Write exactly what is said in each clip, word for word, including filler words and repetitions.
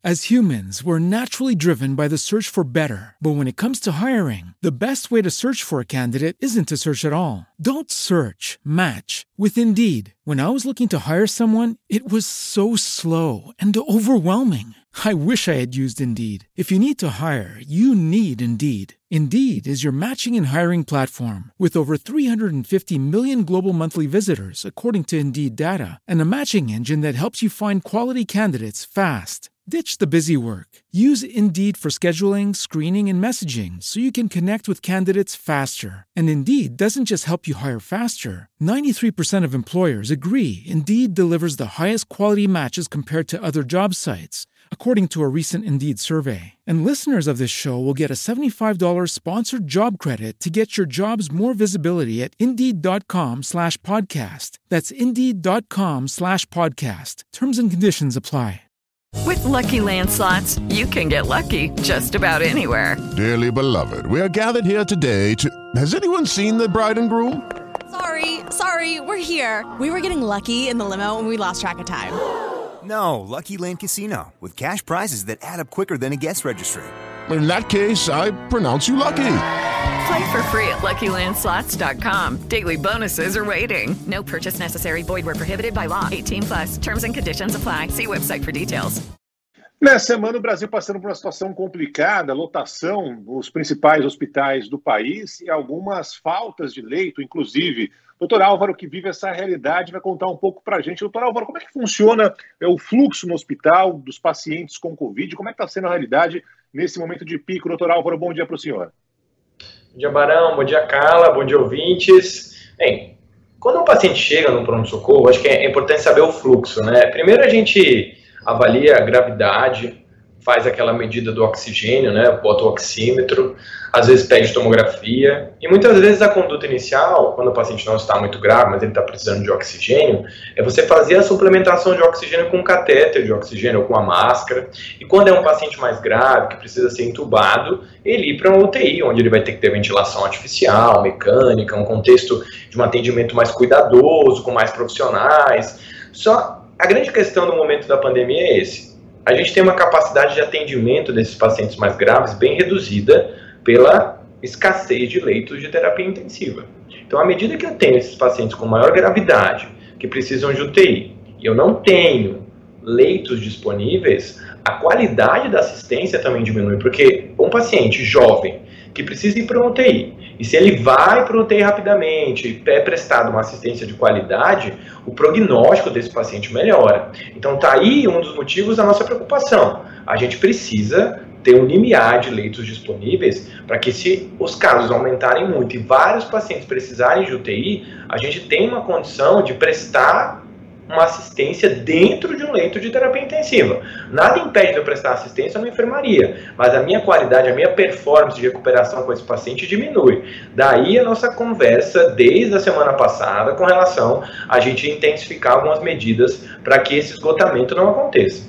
As humans, we're naturally driven by the search for better. But when it comes to hiring, the best way to search for a candidate isn't to search at all. Don't search, match with Indeed. When I was looking to hire someone, it was so slow and overwhelming. I wish I had used Indeed. If you need to hire, you need Indeed. Indeed is your matching and hiring platform with over three hundred fifty million global monthly visitors, according to Indeed data, and a matching engine that helps you find quality candidates fast. Ditch the busy work. Use Indeed for scheduling, screening, and messaging so you can connect with candidates faster. And Indeed doesn't just help you hire faster. ninety-three percent of employers agree Indeed delivers the highest quality matches compared to other job sites, according to a recent Indeed survey. And listeners of this show will get a seventy-five dollars sponsored job credit to get your jobs more visibility at Indeed.com slash podcast. That's Indeed.com slash podcast. Terms and conditions apply. With Lucky Land Slots, you can get lucky just about anywhere. Dearly beloved, we are gathered here today to... Has anyone seen the bride and groom? Sorry, sorry, we're here. We were getting lucky in the limo and we lost track of time. No, Lucky Land Casino, with cash prizes that add up quicker than a guest registry. In that case, I pronounce you lucky. Play for free at Lucky Land Slots dot com. Daily bonuses are waiting. No purchase necessary. Void where prohibited by law. eighteen plus. Terms and conditions apply. See website for details. Nessa semana, o Brasil passando por uma situação complicada, lotação nos principais hospitais do país e algumas faltas de leito, inclusive. Doutor Álvaro, que vive essa realidade, vai contar um pouco para a gente. Doutor Álvaro, como é que funciona o fluxo no hospital dos pacientes com Covid? Como é que está sendo a realidade nesse momento de pico? Doutor Álvaro, bom dia para o senhor. Bom dia, Barão. Bom dia, Carla. Bom dia, ouvintes. Bem, quando um paciente chega no pronto-socorro, acho que é importante saber o fluxo, né? Primeiro a gente avalia a gravidade, faz aquela medida do oxigênio, né? Bota o oxímetro, às vezes pede tomografia, e muitas vezes a conduta inicial, quando o paciente não está muito grave, mas ele está precisando de oxigênio, é você fazer a suplementação de oxigênio com um catéter de oxigênio ou com a máscara, e quando é um paciente mais grave, que precisa ser entubado, ele ir para uma U T I, onde ele vai ter que ter ventilação artificial, mecânica, um contexto de um atendimento mais cuidadoso, com mais profissionais. Só a grande questão no momento da pandemia é esse. A gente tem uma capacidade de atendimento desses pacientes mais graves bem reduzida pela escassez de leitos de terapia intensiva. Então, à medida que eu tenho esses pacientes com maior gravidade, que precisam de U T I, e eu não tenho leitos disponíveis, a qualidade da assistência também diminui, porque um paciente jovem que precisa ir para uma U T I, e se ele vai para uma U T I rapidamente, é prestado uma assistência de qualidade, o prognóstico desse paciente melhora. Então tá aí um dos motivos da nossa preocupação. A gente precisa ter um limiar de leitos disponíveis para que, se os casos aumentarem muito e vários pacientes precisarem de U T I, a gente tenha uma condição de prestar uma assistência dentro de um leito de terapia intensiva. Nada impede de eu prestar assistência numa enfermaria, mas a minha qualidade, a minha performance de recuperação com esse paciente diminui. Daí a nossa conversa desde a semana passada com relação a gente intensificar algumas medidas para que esse esgotamento não aconteça.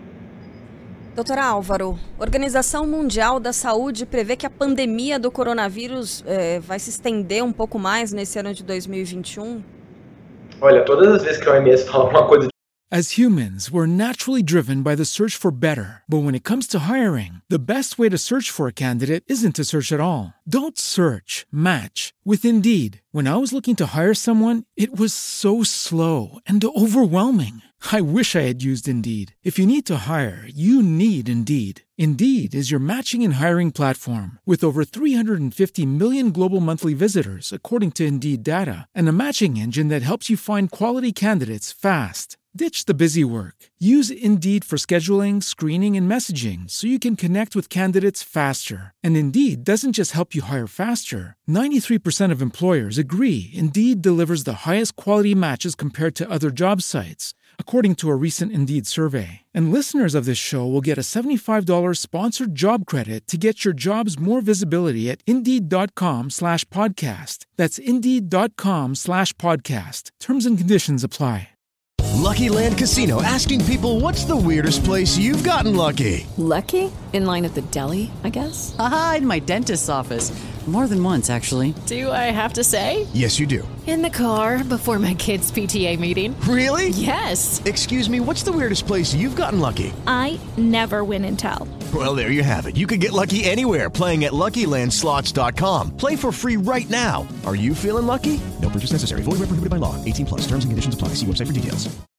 Doutor Álvaro, a Organização Mundial da Saúde prevê que a pandemia do coronavírus eh, vai se estender um pouco mais nesse ano de dois mil e vinte e um? Olha, todas as vezes que a O M S fala uma coisa... As humans, we're naturally driven by the search for better. But when it comes to hiring, the best way to search for a candidate isn't to search at all. Don't search, match with Indeed. When I was looking to hire someone, it was so slow and overwhelming. I wish I had used Indeed. If you need to hire, you need Indeed. Indeed is your matching and hiring platform with over three hundred fifty million global monthly visitors, according to Indeed data, and a matching engine that helps you find quality candidates fast. Ditch the busy work. Use Indeed for scheduling, screening, and messaging so you can connect with candidates faster. And Indeed doesn't just help you hire faster. ninety-three percent of employers agree Indeed delivers the highest quality matches compared to other job sites, according to a recent Indeed survey. And listeners of this show will get a seventy-five dollars sponsored job credit to get your jobs more visibility at Indeed.com slash podcast. That's Indeed.com slash podcast. Terms and conditions apply. Lucky Land Casino, asking people, what's the weirdest place you've gotten lucky? Lucky? In line at the deli, I guess? Aha, in my dentist's office. More than once, actually. Do I have to say? Yes, you do. In the car before my kids' P T A meeting. Really? Yes. Excuse me, what's the weirdest place you've gotten lucky? I never win and tell. Well, there you have it. You can get lucky anywhere, playing at Lucky Land Slots dot com. Play for free right now. Are you feeling lucky? No purchase necessary. Void where prohibited by law. eighteen plus. Terms and conditions apply. See website for details.